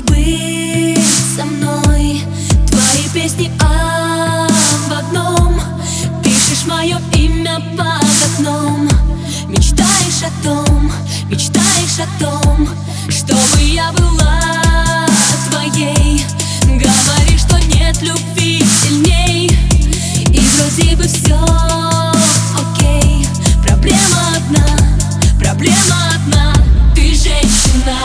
быть со мной? Твои песни об одном. Пишешь мое имя под окном. Мечтаешь о том, чтобы я была твоей. Говоришь, что нет любви сильней, и вроде бы все окей. Проблема одна, ты женщина.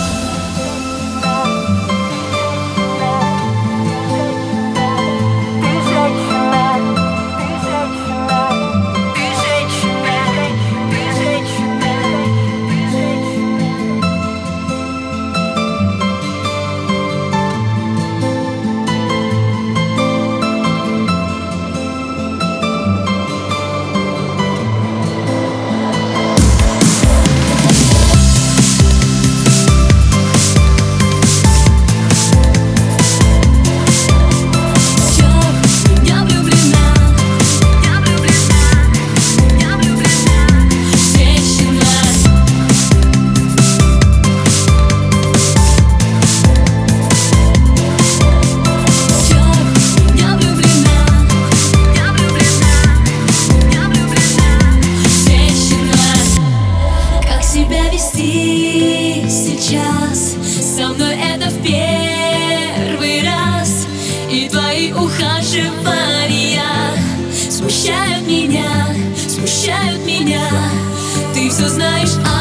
Сейчас со мной это в первый раз, и твои ухаживания смущают меня. Ты все знаешь